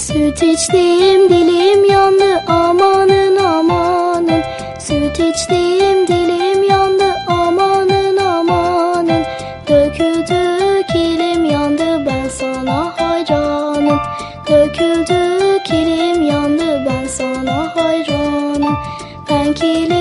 Süt içtim dilim yandı amanın amanın. Süt içtim dilim yandı amanın amanın. Döküldü kilim yandı ben sana hayranım. Döküldü kilim yandı ben sana hayranım. Ben kilim